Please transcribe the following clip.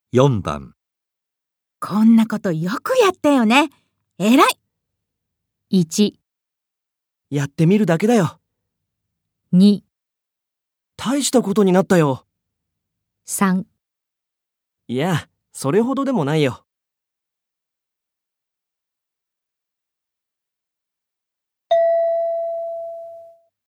4番。 こんなことよくやったよね。偉い。 1、 やってみるだけだよ。 2、 大したことになったよ。 3 いや、それほどでもないよ。